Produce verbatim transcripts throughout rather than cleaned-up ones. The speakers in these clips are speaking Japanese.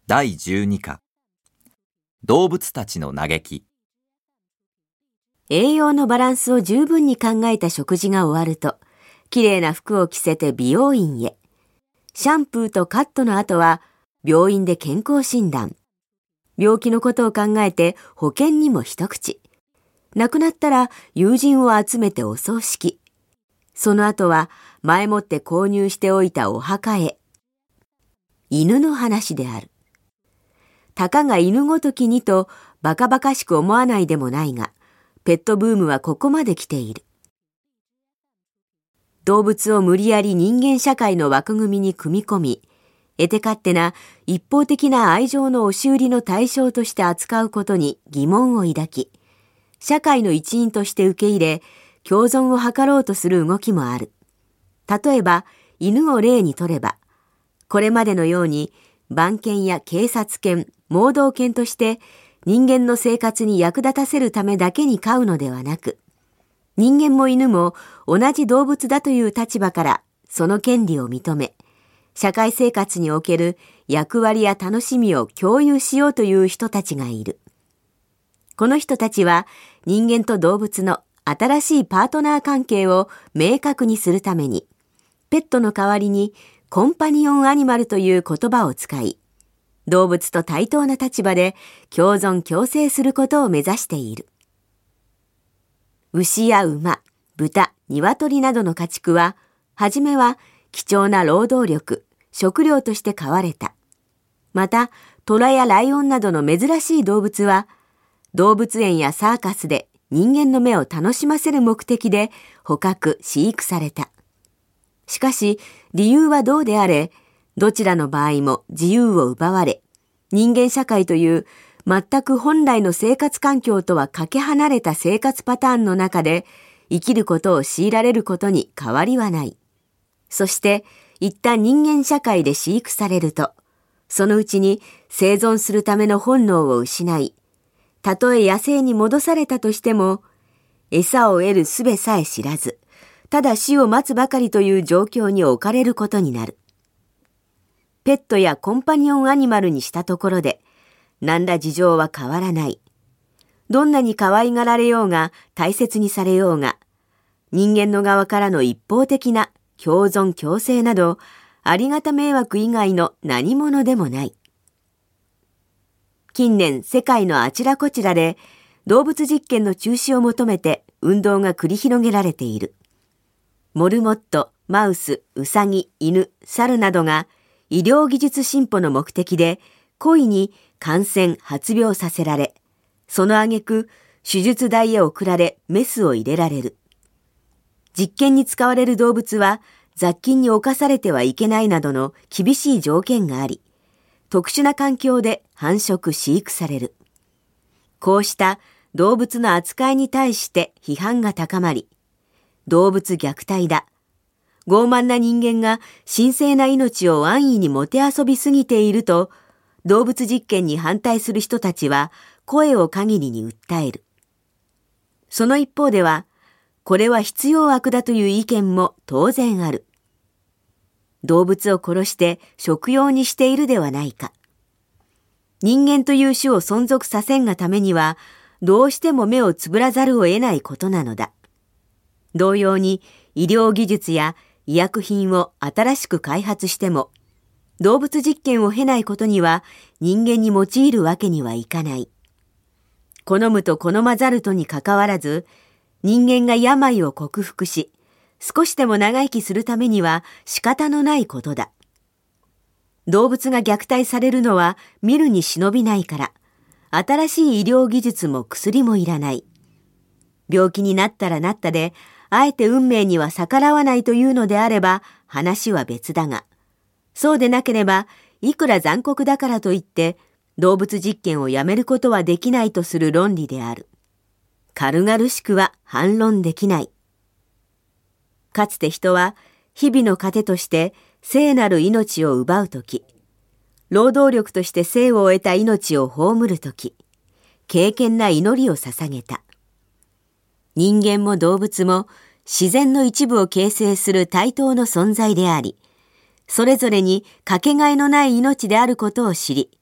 だいじゅうにか動物たちの嘆き。 栄養のバランスを十分に考えた食事が終わると、きれいな服を着せて美容院へ。シャンプーとカットの後は、病院で健康診断。病気のことを考えて保険にも一口。亡くなったら友人を集めてお葬式。その後は前もって購入しておいたお墓へ。犬の話である。たかが犬ごときにとバカバカしく思わないでもないが、ペットブームはここまで来ている。動物を無理やり人間社会の枠組みに組み込み、得手勝手な一方的な愛情の押し売りの対象として扱うことに疑問を抱き、社会の一員として受け入れ、共存を図ろうとする動きもある。例えば、犬を例にとれば、これまでのように番犬や警察犬、盲導犬として人間の生活に役立たせるためだけに飼うのではなく、人間も犬も同じ動物だという立場からその権利を認め、社会生活における役割や楽しみを共有しようという人たちがいる。この人たちは人間と動物の新しいパートナー関係を明確にするために、ペットの代わりにコンパニオンアニマルという言葉を使い、動物と対等な立場で共存共生することを目指している。牛や馬、豚、鶏などの家畜は、はじめは貴重な労働力、食料として飼われた。また、虎やライオンなどの珍しい動物は、動物園やサーカスで人間の目を楽しませる目的で捕獲、飼育された。しかし、理由はどうであれ、どちらの場合も自由を奪われ、人間社会という全く本来の生活環境とはかけ離れた生活パターンの中で生きることを強いられることに変わりはない。そして、一旦人間社会で飼育されると、そのうちに生存するための本能を失い、たとえ野生に戻されたとしても、餌を得る術さえ知らず、ただ死を待つばかりという状況に置かれることになる。ペットやコンパニオンアニマルにしたところで、何ら事情は変わらない。どんなに可愛がられようが大切にされようが、人間の側からの一方的な共存共生など、ありがた迷惑以外の何者でもない。近年世界のあちらこちらで動物実験の中止を求めて運動が繰り広げられている。モルモット、マウス、ウサギ、犬、猿などが医療技術進歩の目的で故意に感染、発病させられ、その挙句手術台へ送られメスを入れられる。実験に使われる動物は雑菌に侵されてはいけないなどの厳しい条件があり、特殊な環境で繁殖飼育される。こうした動物の扱いに対して批判が高まり、動物虐待だ。傲慢な人間が神聖な命を安易にもてあそびすぎていると、動物実験に反対する人たちは声を限りに訴える。その一方では、これは必要悪だという意見も当然ある。動物を殺して食用にしているではないか。人間という種を存続させんがためには、どうしても目をつぶらざるを得ないことなのだ。同様に医療技術や医薬品を新しく開発しても、動物実験を経ないことには人間に用いるわけにはいかない。好むと好まざるとにかかわらず、人間が病を克服し、少しでも長生きするためには仕方のないことだ。動物が虐待されるのは見るに忍びないから、新しい医療技術も薬もいらない。病気になったらなったで、あえて運命には逆らわないというのであれば話は別だが、そうでなければいくら残酷だからといって動物実験をやめることはできないとする論理である。軽々しくは反論できない。かつて人は日々の糧として聖なる命を奪うとき、労働力として生を得た命を葬るとき、敬虔な祈りを捧げた。人間も動物も自然の一部を形成する対等の存在であり、それぞれにかけがえのない命であることを知り、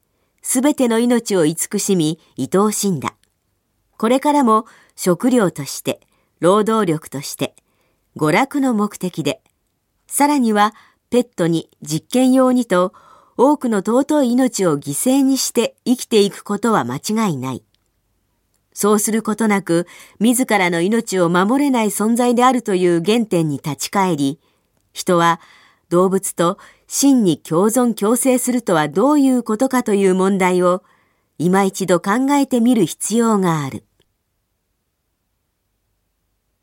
すべての命を慈しみ、愛おしんだ。これからも食料として、労働力として、娯楽の目的で、さらにはペットに実験用にと、多くの尊い命を犠牲にして生きていくことは間違いない。そうすることなく、自らの命を守れない存在であるという原点に立ち返り、人は動物と真に共存共生するとはどういうことかという問題を、今一度考えてみる必要がある。